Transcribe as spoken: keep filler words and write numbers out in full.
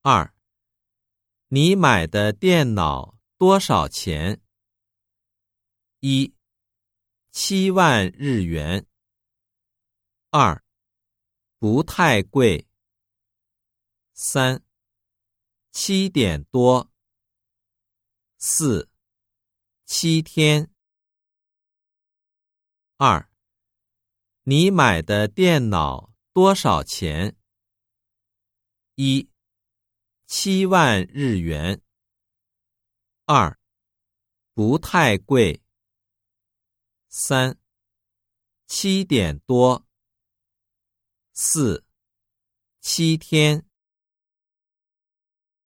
二，你买的电脑多少钱？一，七万日元。二，不太贵。三，七点多。四，七天。二，你买的电脑多少钱？一，七万日元。二，不太贵。三，七点多。四，七天。